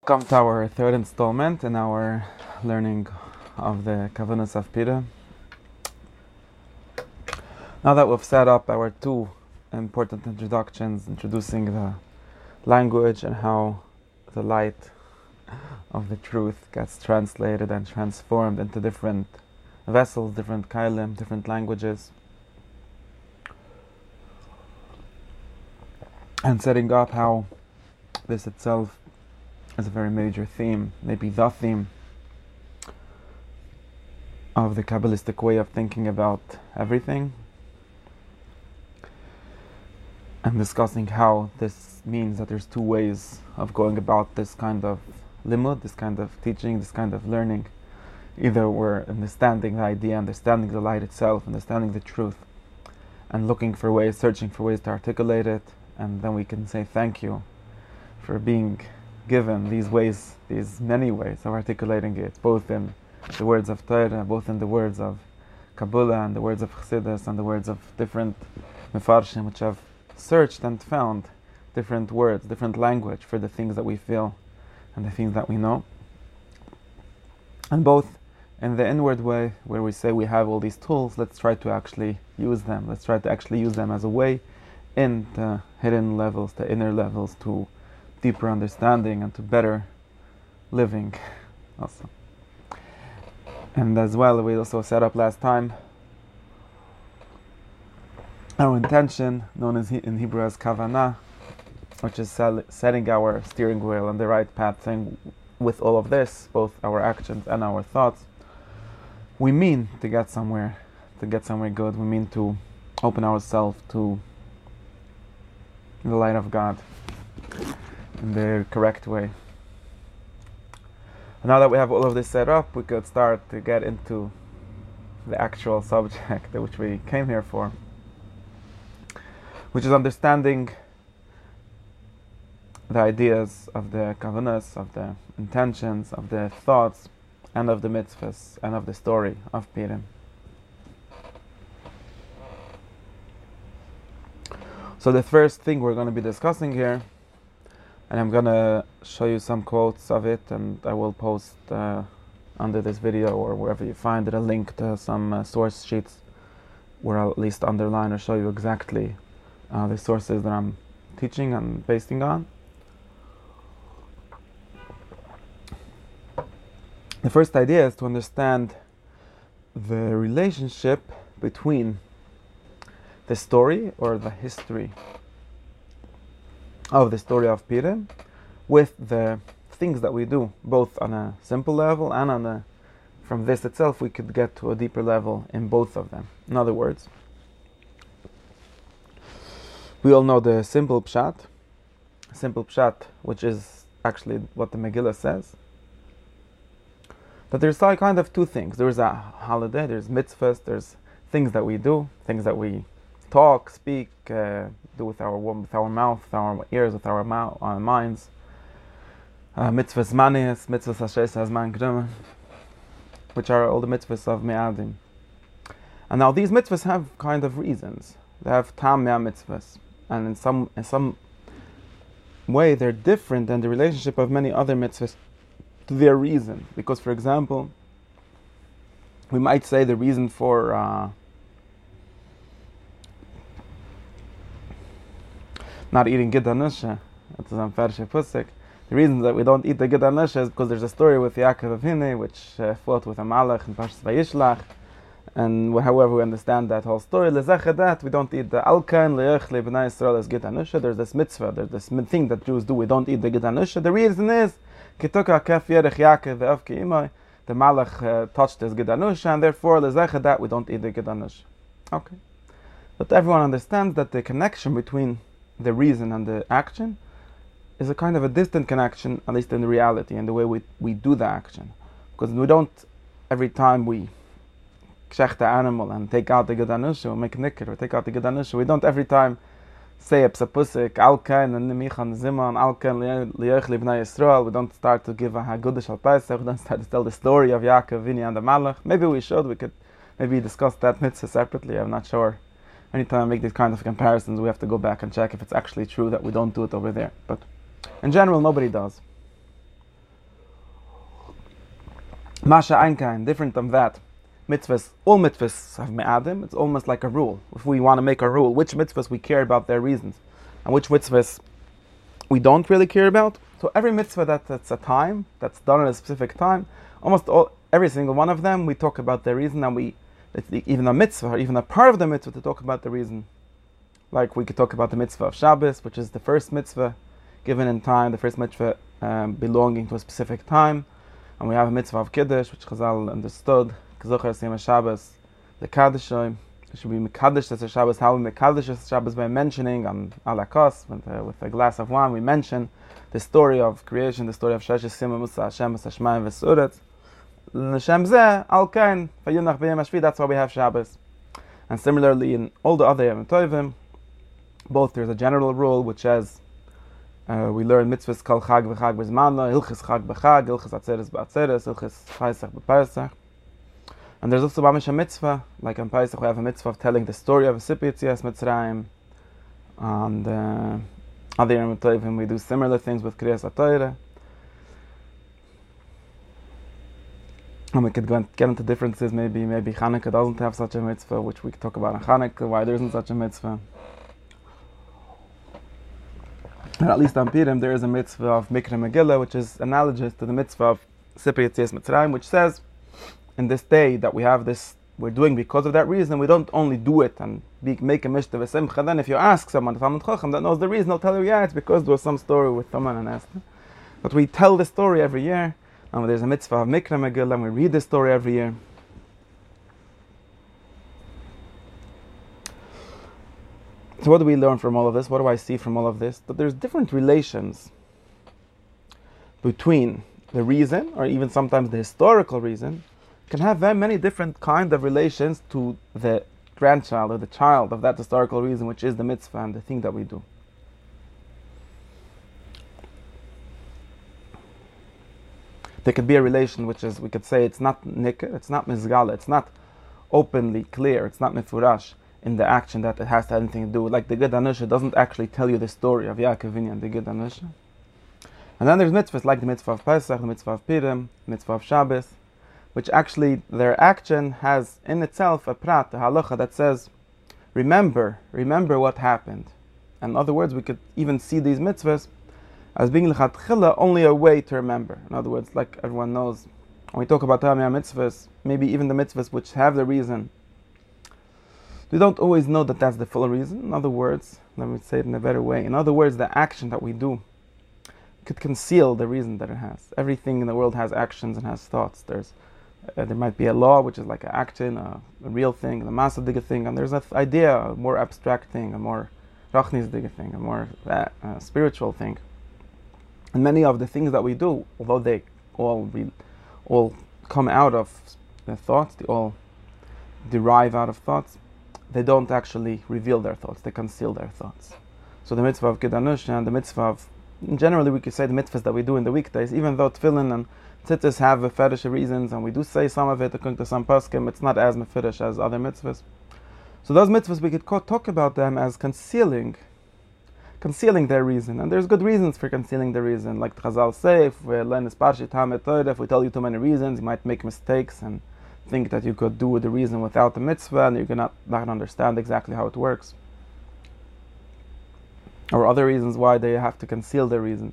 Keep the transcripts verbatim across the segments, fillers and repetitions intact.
Welcome to our third installment in our learning of the Kavanahs of Pira. Now that we've set up our two important introductions, introducing the language and how the light of the truth gets translated and transformed into different vessels, different kailim, different languages, and setting up how this itself is a very major theme, maybe the theme of the Kabbalistic way of thinking about everything, and discussing how this means that there's two ways of going about this kind of limud, this kind of teaching, this kind of learning. Either we're understanding the idea, understanding the light itself, understanding the truth, and looking for ways, searching for ways to articulate it, and then we can say thank you for being given these ways, these many ways of articulating it, both in the words of Torah, both in the words of Kabbalah, and the words of Chassidus, and the words of different Mefarshim, which have searched and found different words, different language for the things that we feel and the things that we know. And both in the inward way, where we say we have all these tools, let's try to actually use them. Let's try to actually use them as a way in the hidden levels, the inner levels, to deeper understanding and to better living also. And as well, we also set up last time our intention, known as in Hebrew as kavanah, which is setting our steering wheel on the right path, saying with all of this, both our actions and our thoughts, we mean to get somewhere, to get somewhere good. We mean to open ourselves to the light of God in the correct way. And now that we have all of this set up, we could start to get into the actual subject which we came here for, which is understanding the ideas of the kavanahs, of the intentions, of the thoughts, and of the mitzvahs, and of the story of Purim. So the first thing we're going to be discussing here, and I'm going to show you some quotes of it, and I will post uh, under this video or wherever you find it a link to some uh, source sheets where I'll at least underline or show you exactly uh, the sources that I'm teaching and basing on. The first idea is to understand the relationship between the story or the history of the story of Purim with the things that we do, both on a simple level and on a, from this itself we could get to a deeper level in both of them. In other words, we all know the simple pshat, simple pshat, which is actually what the Megillah says, that there's like kind of two things. There's a holiday, there's mitzvahs, there's things that we do, things that we talk, speak, uh, do with our with our mouth, with our ears, with our mouth, our minds. Uh, mitzvahs manis, mitzvahs ashes hazman grima, which are all the mitzvahs of me'adim. And now these mitzvahs have kind of reasons. They have tam mea mitzvahs, and in some in some way they're different than the relationship of many other mitzvahs to their reason. Because, for example, we might say the reason for uh, not eating gid hanusha, that's a Farsha Pusik. The reason that we don't eat the gid hanusha is because there's a story with Yaakov Avinu, which uh, fought with a malach in Parshas Vayishlach, and however we understand that whole story, lezecha that we don't eat the alkan leich lebnei Yisrael as gid hanusha. There's this mitzvah, there's this thing that Jews do. We don't eat the gid hanusha. The reason is kituka kef yerech Yaakov ve'av ki imay. The malach uh, touched his gid hanusha, and therefore lezecha that we don't eat the gid hanusha. Okay, but everyone understands that the connection between the reason and the action is a kind of a distant connection, at least in the reality and the way we, we do the action. Because we don't, every time we kshech the animal and take out the gid hanusha, or make nikr, or take out the gid hanusha, we don't every time say a psapusik, alkan and nimichan ziman, alkan liyoch libnei Yisrael. We don't start to give a hagudish al Pesach, we don't start to tell the story of Yaakov Avinu and the malach. Maybe we should, we could maybe discuss that mitzvah separately, I'm not sure. Anytime I make these kind of comparisons, we have to go back and check if it's actually true that we don't do it over there. But in general, nobody does. Masha Einkein, different than that. Mitzvahs, all mitzvahs have me'adim. It's almost like a rule. If we want to make a rule, which mitzvahs we care about their reasons, and which mitzvahs we don't really care about. So every mitzvah that, that's a time, that's done at a specific time, almost all, every single one of them, we talk about their reason, and we, even a mitzvah, or even a part of the mitzvah, to talk about the reason. Like we could talk about the mitzvah of Shabbos, which is the first mitzvah given in time, the first mitzvah um, belonging to a specific time. And we have a mitzvah of Kiddush, which Chazal understood, K'zocher Siyam Shabbos, the Kaddishoi. It should be Mekadesh as a Shabbos. How we Mekadesh as a Shabbos? By mentioning on Alakos, with, uh, with a glass of wine, we mention the story of creation, the story of Sheshes Sima Musa Hashem Hashemayim Vesuret. L'Shem Zeh Al Kain Vayunach B'Yom HaShvi. That's why we have Shabbos. And similarly, in all the other Yom Tovim, both there's a general rule which says uh, we learn mitzvahs Kol Chag V'Chag B'Zmano, Hilchis Chag B'Chag, Hilchis Atzeres B'Atzeres, Hilchis Paisach B'Paisach. And there's also mamish a mitzvah, like on Paisach we have a mitzvah of telling the story of Sippi Yetzias Mitzrayim. And uh, other Yom Tovim we do similar things with Kriyas HaTorah. And we could go and get into differences. Maybe maybe Hanukkah doesn't have such a mitzvah, which we could talk about on Hanukkah, why there isn't such a mitzvah. And at least on Purim there is a mitzvah of Mikra Megillah, which is analogous to the mitzvah of Sipri Yetzias Mitzrayim, which says, in this day that we have this, we're doing because of that reason, we don't only do it and be, make a mishta v'simcha. Then if you ask someone, Talmud Chacham, that knows the reason, they'll tell you, yeah, it's because there was some story with Taman and Esther. But we tell the story every year, and there's a mitzvah of Mikra Megillah, and we read the story every year. So what do we learn from all of this? What do I see from all of this? That there's different relations between the reason, or even sometimes the historical reason, can have very many different kind of relations to the grandchild or the child of that historical reason, which is the mitzvah and the thing that we do. There could be a relation which is, we could say, it's not nikr, it's not mizgala, it's not openly clear, it's not mifurash in the action that it has to have anything to do with. Like the Gid Anusha doesn't actually tell you the story of Yaakov Avinu and the Gid Anusha. And then there's mitzvahs like the mitzvah of Pesach, the mitzvah of Purim, the mitzvah of Shabbos, which actually their action has in itself a prat, a halacha that says, remember, remember what happened. And in other words, we could even see these mitzvahs as being l'chatchila only a way to remember. In other words, like everyone knows, when we talk about Tamiyah mitzvahs, maybe even the mitzvahs which have the reason, we don't always know that that's the full reason. In other words, let me say it in a better way. In other words, the action that we do could conceal the reason that it has. Everything in the world has actions and has thoughts. There's Uh, there might be a law, which is like an action, a, a real thing, the masadige thing, and there's an idea, a more abstract thing, a more rachnisdige thing, a more uh, uh, spiritual thing. And many of the things that we do, although they all be, all come out of the thoughts, they all derive out of thoughts, they don't actually reveal their thoughts, they conceal their thoughts. So the mitzvah of Gid Anusha and the mitzvah of, generally we could say the mitzvahs that we do in the weekdays, even though tefillin and tzitzis have meferish reasons, and we do say some of it according to some poskim, it's not as meferish as other mitzvahs. So those mitzvahs, we could talk about them as concealing, concealing their reason. And there's good reasons for concealing the reason. Like Chazal say, if we learn this parshit Hamet Torah, if we tell you too many reasons, you might make mistakes and think that you could do the reason without the mitzvah, and you're not, not understand exactly how it works. Or other reasons why they have to conceal their reason.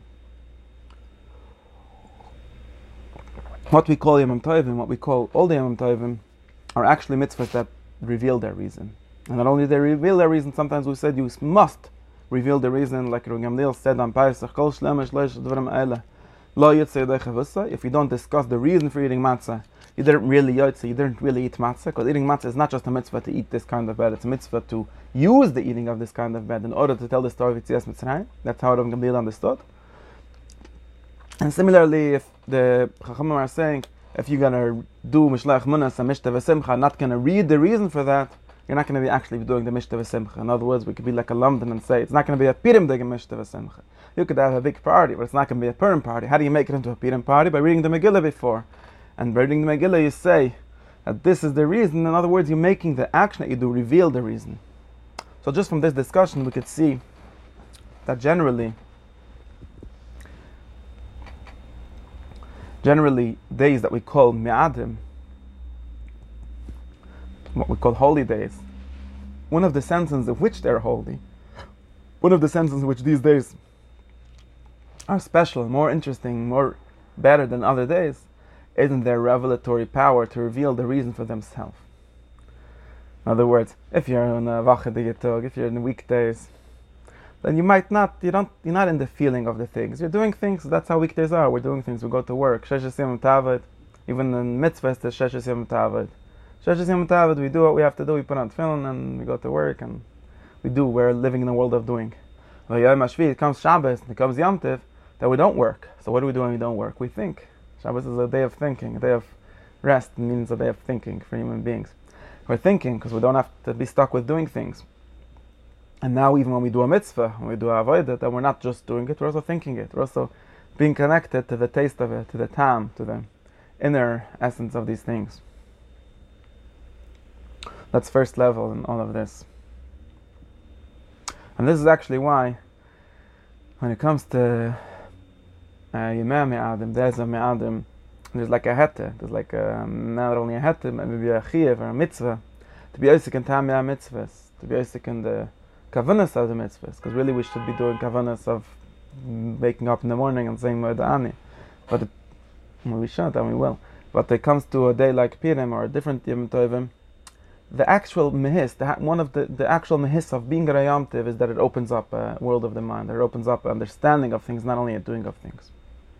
What we call Yom Tovim, what we call all the Yom Tovim, are actually mitzvahs that reveal their reason. And not only they reveal their reason, sometimes we said you must reveal the reason, like Rabbi Gamliel said on Pesach, Kol Shlema Shleish Dvarim Eile, Lo Yitzei Yodei Chavusah. If you don't discuss the reason for eating matzah, you didn't really yotze, you didn't really eat matzah, because eating matzah is not just a mitzvah to eat this kind of bread, it's a mitzvah to use the eating of this kind of bread in order to tell the story of Yetzias Mitzrayim. That's how Rabbi Gamliel understood. And similarly, if the Chachamim are saying, if you're going to do Mishlach Munas and Mishta V'Simcha, not going to read the reason for that, you're not going to be actually doing the Mishta V'Simcha. In other words, we could be like a Lamdan and say, it's not going to be a Purim Dig Mishta V'Simcha. You could have a big party, but it's not going to be a Purim party. How do you make it into a Purim party? By reading the Megillah before. And by reading the Megillah, you say that this is the reason. In other words, you're making the action that you do reveal the reason. So just from this discussion, we could see that generally, generally days that we call Me'adim, what we call holy days, one of the senses in which they're holy, one of the senses in which these days are special, more interesting, more better than other days, isn't their revelatory power to reveal the reason for themselves. In other words, if you're on a Wache de Yitog, if you're in the weekdays, then you might not, you don't, you're not in the feeling of the things. You're doing things, that's how weekdays are. We're doing things, we go to work. Sheshes Yom Tavad, even in mitzvahs, there's Sheshes Yom Tavad. Sheshes Yom Tavad, we do what we have to do, we put on tefillin and we go to work and we do, we're living in a world of doing. Well, Yom HaShvi, it comes Shabbos, it comes Yom Tov, that we don't work. So what do we do when we don't work? We think. Shabbos is a day of thinking, a day of rest, means a day of thinking for human beings. We're thinking because we don't have to be stuck with doing things. And now even when we do a mitzvah, when we do a avodah, then we're not just doing it, we're also thinking it. We're also being connected to the taste of it, to the tam, to the inner essence of these things. That's first level in all of this. And this is actually why, when it comes to Yemei Me'adim, days of Me'adim, there's like a hete, there's like a, not only a hete, maybe a chiyuv or a mitzvah, to be osik in tam mitzvahs, to be osik in the kavanas of the mitzvahs, because really we should be doing kavanas of waking up in the morning and saying Moeda'ani. But it, well, we should and we will. But when it comes to a day like Purim or a different Yom Tovim, the actual mehis, the, one of the, the actual mehis of being a Yom Tov is that it opens up a world of the mind, that it opens up an understanding of things, not only a doing of things.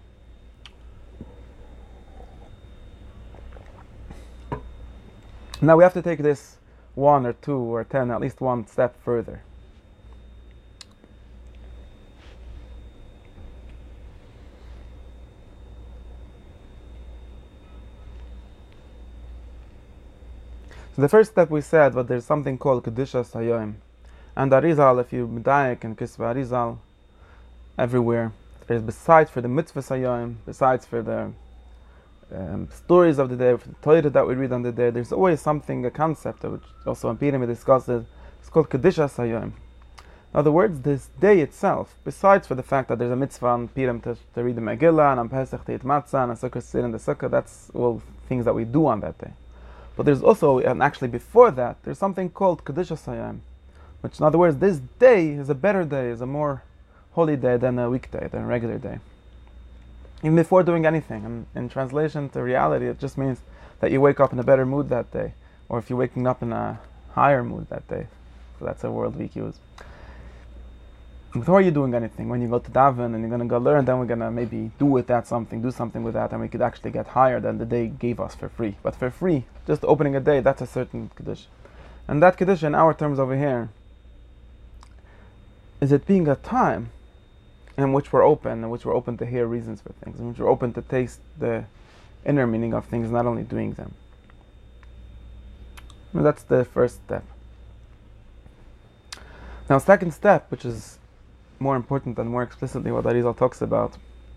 Now we have to take this one or two or ten, at least one step further. So the first step we said, but there's something called Kedushas Hayom. And Arizal, if you medayek and Kisva Arizal, everywhere, there's besides for the Mitzvah Hayom, besides for the um, stories of the day, for the Torah that we read on the day, there's always something, a concept, which also in Purim we discussed it, it's called Kedushas Hayom. In other words, this day itself, besides for the fact that there's a mitzvah on Purim to, to read the Megillah, and on Pesach to eat matzah, and a sukkah sit in the sukkah, that's all things that we do on that day. But there's also, and actually before that, there's something called Kedushas Hayom, which in other words, this day is a better day, is a more holy day than a weekday, than a regular day. Even before doing anything. And in translation to reality, it just means that you wake up in a better mood that day, or if you're waking up in a higher mood that day. So that's a word we use. Before you're doing anything, when you go to daven and you're going to go learn, then we're going to maybe do with that something, do something with that, and we could actually get higher than the day gave us for free. But for free, just opening a day, that's a certain Kiddush. And that Kiddush in our terms over here, is it being a time in which we're open, in which we're open to hear reasons for things, in which we're open to taste the inner meaning of things, not only doing them. And that's the first step. Now, second step, which is more important and more explicitly what Arizal talks about,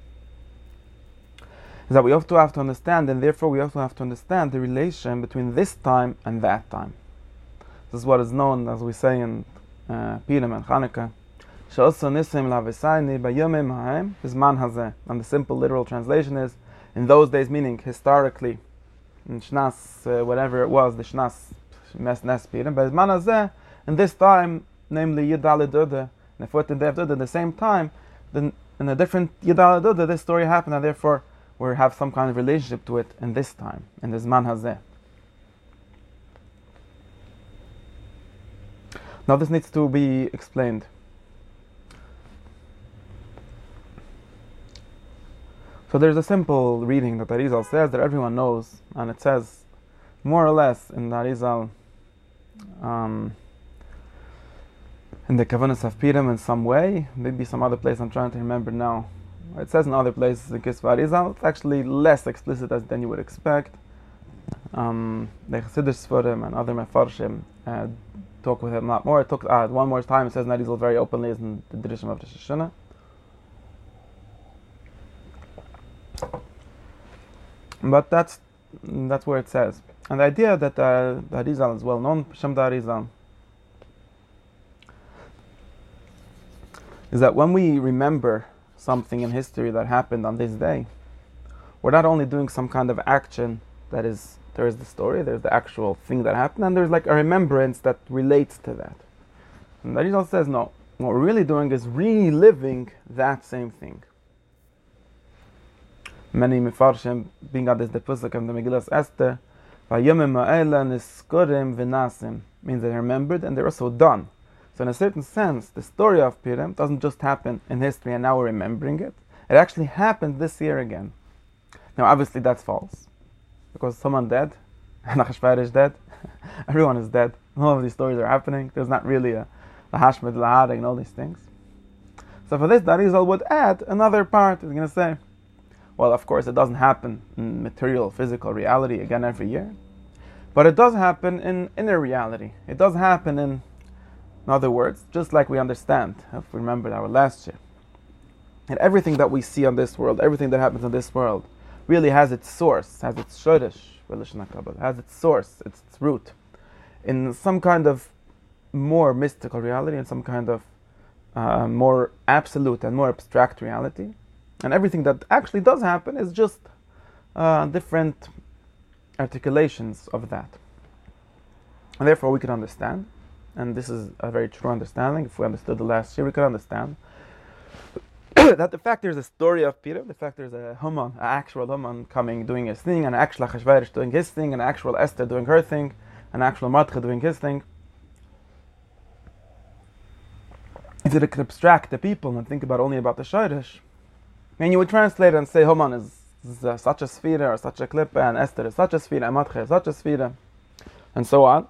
is that we also have to understand, and therefore we also have to understand the relation between this time and that time. This is what is known, as we say in uh, Purim and Chanukah, and the simple literal translation is, in those days, meaning historically, in Shnas, uh, whatever it was, the Shnas, Mes Nes Purim, but Zman Hazeh, in this time, namely Yidale Duda, and the fourteenth day of Duda, at the same time, then in a different Yidale Duda, this story happened, and therefore we have some kind of relationship to it in this time, in the Zman Hazeh. Now this needs to be explained. So there's a simple reading that Arizal says that everyone knows, and it says more or less in the Arizal, um, in the Kavanas of Purim in some way, maybe some other place I'm trying to remember now. It says in other places in Kisva Arizal, it's actually less explicit as than you would expect. Um, the Chassidus Sforim and other Mefarshim uh, talk with him a lot more. It took uh, one more time, it says in Arizal very openly, is in the Drishim of Rosh Hashanah. But that's that's where it says. And the idea that uh, the Arizal is well known, Shem the Arizal, is that when we remember something in history that happened on this day, we're not only doing some kind of action that is, there is the story, there's the actual thing that happened, and there's like a remembrance that relates to that. And the Arizal says, no, what we're really doing is reliving that same thing. Many Mefarshim bring out this the Pusuk of the Megillas Esther, Vayomim ha'ela niskurim v'nasim, means they're remembered and they're also done. So in a certain sense, the story of Purim doesn't just happen in history and now we're remembering it. It actually happened this year again. Now obviously that's false, because someone dead, Achashverosh is dead, everyone is dead, all of these stories are happening, there's not really a Lahashmed, Lahadeg and all these things. So for this, the Arizal would add another part. He's going to say, well, of course it doesn't happen in material, physical reality again every year, but it does happen in inner reality. It does happen in, in other words, just like we understand, if we remember our last year, and everything that we see on this world, everything that happens in this world, really has its source, has its shoresh, has its source, its, its root, in some kind of more mystical reality, in some kind of uh, more absolute and more abstract reality. And everything that actually does happen is just uh, different articulations of that. And therefore we can understand, and this is a very true understanding, if we understood the last year, we could understand that the fact there's a story of Peter, the fact there's a Haman, an actual Haman coming, doing his thing, an actual Achashverosh doing his thing, an actual Esther doing her thing, an actual Mordechai doing his thing. If you could abstract the people and think about only about the Shoresh, and you would translate and say Haman is, is uh, such a sphere or such a klippe, and Esther is such a sphere, and Mordechai is such a sphere, and so on.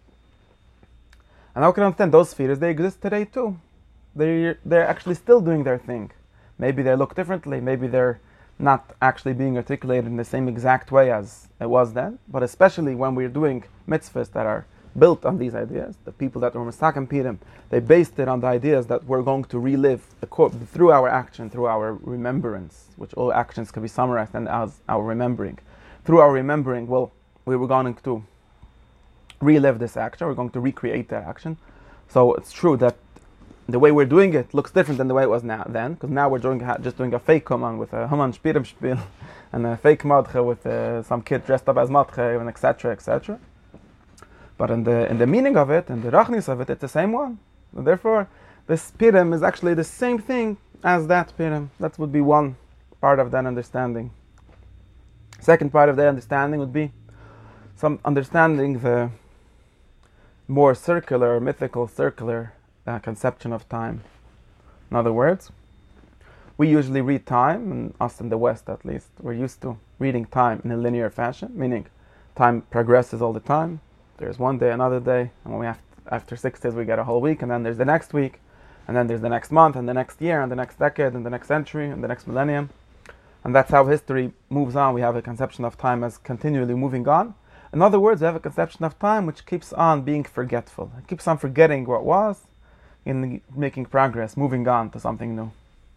And how can I understand those spheres? They exist today too. They're, they're actually still doing their thing. Maybe they look differently, maybe they're not actually being articulated in the same exact way as it was then, but especially when we're doing mitzvahs that are built on these ideas, the people that were Mesakem Purim, they based it on the ideas that we're going to relive the co- through our action, through our remembrance, which all actions can be summarized and as our remembering. Through our remembering, well, we were going to relive this action, we're going to recreate that action. So it's true that the way we're doing it looks different than the way it was now then, because now we're doing just doing a fake Haman with a Haman Spirim Spiel and a fake Mordechai with uh, some kid dressed up as Mordechai and et cetera, et cetera. But in the in the meaning of it, in the rachnis of it, it's the same one. And therefore, this Purim is actually the same thing as that Purim. That would be one part of that understanding. Second part of that understanding would be some understanding the more circular, mythical, circular uh, conception of time. In other words, we usually read time, and us in the West at least, we're used to reading time in a linear fashion, meaning time progresses all the time. There's one day, another day, and when we have, after six days we get a whole week, and then there's the next week, and then there's the next month, and the next year, and the next decade, and the next century, and the next millennium. And that's how history moves on. We have a conception of time as continually moving on. In other words, we have a conception of time which keeps on being forgetful. It keeps on forgetting what was, in making progress, moving on to something new.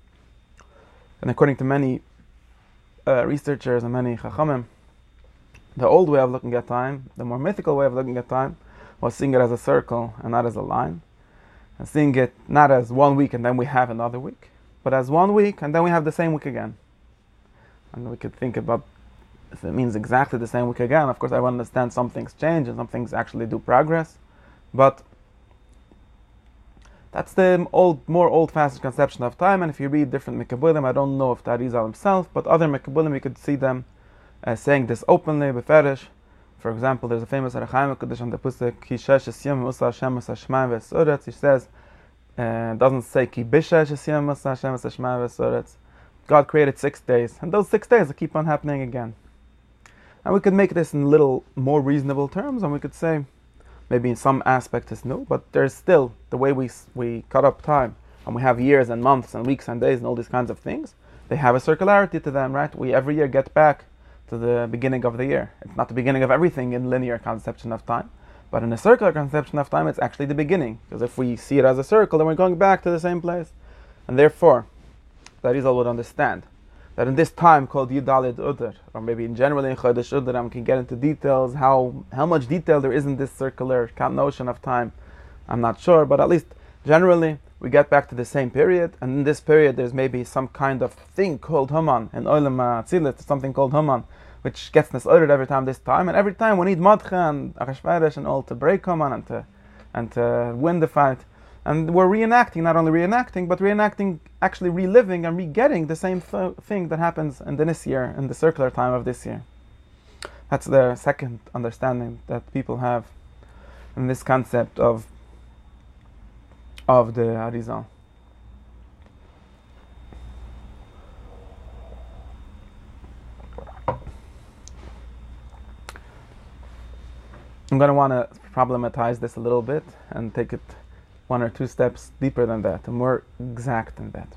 And according to many uh, researchers and many Chachamim, the old way of looking at time, the more mythical way of looking at time, was seeing it as a circle and not as a line. And seeing it not as one week and then we have another week, but as one week and then we have the same week again. And we could think about if it means exactly the same week again. Of course, I understand some things change and some things actually do progress, but that's the old, more old-fashioned conception of time. And if you read different Mekabulim, I don't know if that is himself, but other Mekabulim, you could see them uh, saying this openly, beferish. For example, there's a famous Arachaim Kodesh on the Pusik, Ki shesh es yom usa Hashem es hashmayim v'esoretz. He says, uh, doesn't say Ki bishesh es yom usa Hashem es hashmayim v'esoretz. God created six days, and those six days keep on happening again. And we could make this in little more reasonable terms, and we could say, maybe in some aspect it's new, but there's still the way we we cut up time, and we have years and months and weeks and days and all these kinds of things. They have a circularity to them, right? We every year get back to the beginning of the year. It's not the beginning of everything in linear conception of time, but in a circular conception of time, it's actually the beginning. Because if we see it as a circle, then we're going back to the same place. And therefore, that is all would understand that in this time called Yudalid Udar, or maybe in generally in Chodesh Udar, we can get into details, how how much detail there is in this circular notion of time. I'm not sure, but at least generally, we get back to the same period, and in this period there's maybe some kind of thing called Haman, in Olam Atzilut, something called Haman, which gets disordered every time this time, and every time we need Madcha and Achashverosh and all to break Haman and to, and to win the fight. And we're reenacting, not only reenacting, but reenacting, actually reliving and re-getting the same th- thing that happens in this year, in the circular time of this year. That's the second understanding that people have in this concept of of the Arizal. I'm going to want to problematize this a little bit and take it one or two steps deeper than that, and more exact than that.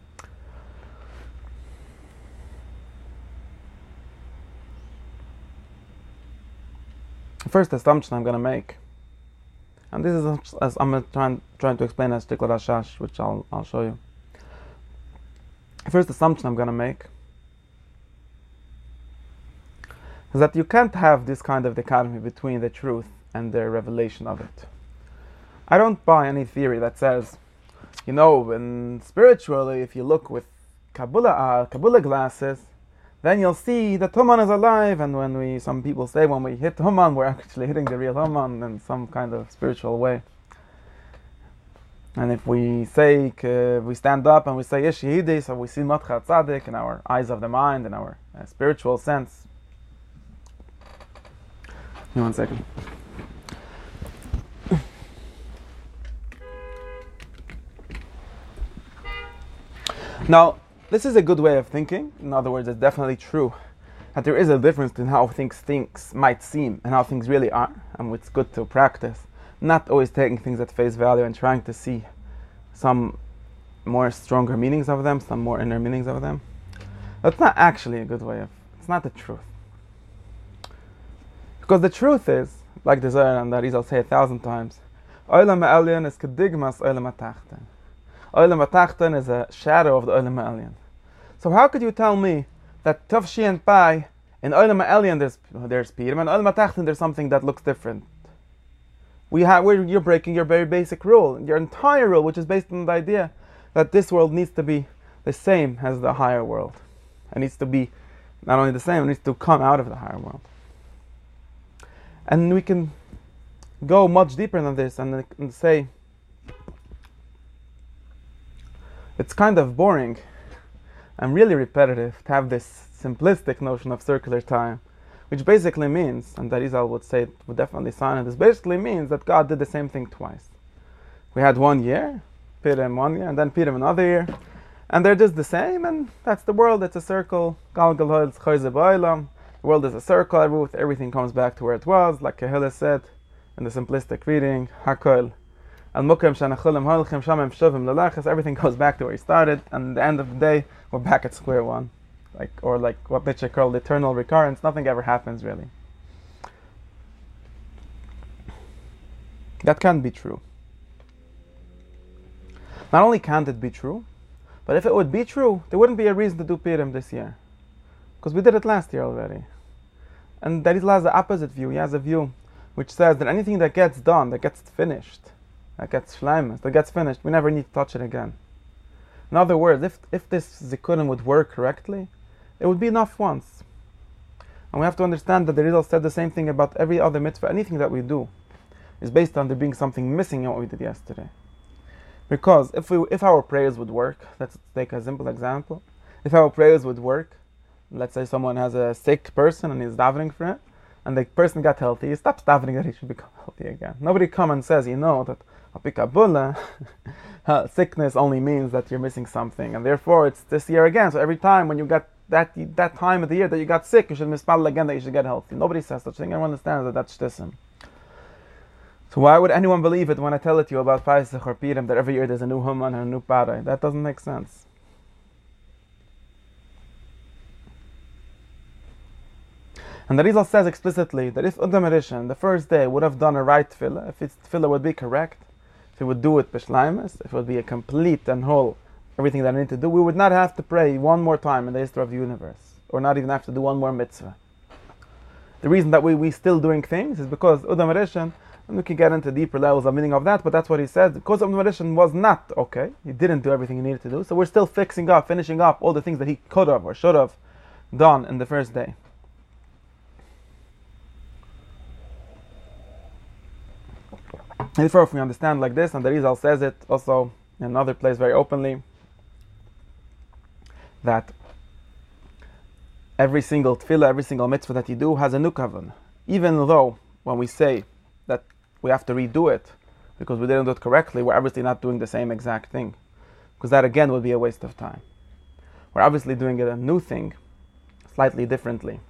The first assumption I'm going to make, and this is as I'm trying trying to explain as Tikla Rashash, which I'll I'll show you. The first assumption I'm going to make is that you can't have this kind of dichotomy between the truth and the revelation of it. I don't buy any theory that says, you know, when spiritually, if you look with Kabbalah, uh, Kabbalah glasses, then you'll see that Haman is alive, and when we, some people say when we hit Haman, we're actually hitting the real Haman in some kind of spiritual way. And if we say, uh, we stand up and we say Yesh Yehidi, so we see Matcha Tzadik in our eyes of the mind, in our uh, spiritual sense. Give me one second. Now, this is a good way of thinking. In other words, it's definitely true that there is a difference in how things things might seem and how things really are, and it's good to practice, not always taking things at face value and trying to see some more stronger meanings of them, some more inner meanings of them. That's not actually a good way of, it's not the truth. Because the truth is, like the Zohar and the Arizal say a thousand times, Olam Ha'elyon is kedigmas Olam Ha'tachton. Olam Ha'tachton is a shadow of the Olam Ha'elyon. So how could you tell me that Tov Shi and Pai, in Olam Ha'elyon there's there's Pirim, and Olam Ha'tachton there's something that looks different? We have, we're, you're breaking your very basic rule, your entire rule, which is based on the idea that this world needs to be the same as the higher world. It needs to be not only the same, it needs to come out of the higher world. And we can go much deeper than this and, and say, it's kind of boring and really repetitive to have this simplistic notion of circular time, which basically means, and that Arizal would say, would definitely sign it, this basically means that God did the same thing twice. We had one year, Pirim one year, and then Pirim another year, and they're just the same, and that's the world, it's a circle. The world is a circle, everything comes back to where it was, like Kehillah said in the simplistic reading, Hakol. Everything goes back to where he started, and at the end of the day, we're back at square one. Like, or like what Nietzsche called eternal recurrence, nothing ever happens really. That can't be true. Not only can't it be true, but if it would be true, there wouldn't be a reason to do Pirim this year. Because we did it last year already. And Arizal has the opposite view. He has a view which says that anything that gets done, that gets finished, that gets shleimus, that gets finished, we never need to touch it again. In other words, if if this zikunim would work correctly, it would be enough once. And we have to understand that the Arizal said the same thing about every other mitzvah. Anything that we do is based on there being something missing in what we did yesterday. Because if we if our prayers would work, let's take a simple example. If our prayers would work, let's say someone has a sick person and he's davening for it, and the person got healthy, he stops davening that he should become healthy again. Nobody comes and says, you know, that Apikabula, sickness only means that you're missing something, and therefore it's this year again. So every time when you got that that time of the year that you got sick, you should mispal again that you should get healthy. Nobody says such thing. Everyone understands that that's shtissim. So why would anyone believe it when I tell it to you about Pesach or Pirim that every year there's a new Haman and a new Parai? That doesn't make sense. And the Arizal says explicitly that if Adam Rishon, the first day, would have done a right tefillah, if its tefillah would be correct, if it would do it b'shleimus, if it would be a complete and whole, everything that I need to do, we would not have to pray one more time in the history of the universe, or not even have to do one more mitzvah. The reason that we we still doing things is because Adam Rishon And we can get into deeper levels of meaning of that, but that's what he said. Because of Rishon was not okay. He didn't do everything he needed to do. So we're still fixing up, finishing up all the things that he could have or should have done in the first day. And therefore, if we understand like this, and the Rizal says it also in another place very openly, that every single tefillah, every single mitzvah that you do has a new kavan. Even though when we say that we have to redo it because we didn't do it correctly, we're obviously not doing the same exact thing. Because that again would be a waste of time. We're obviously doing it a new thing, slightly differently.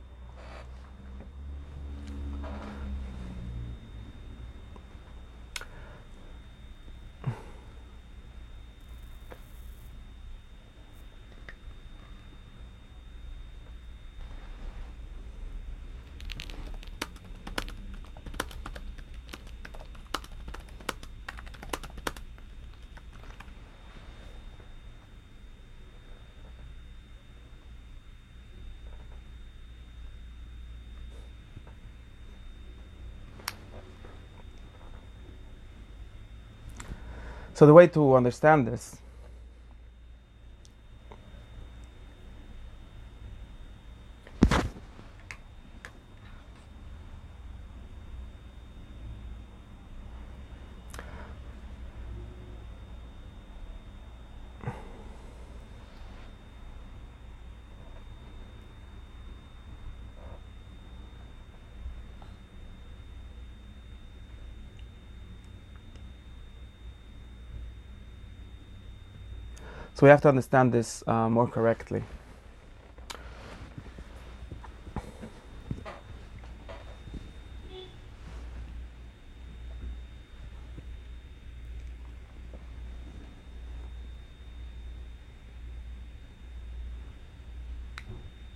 So the way to understand this So we have to understand this uh, more correctly.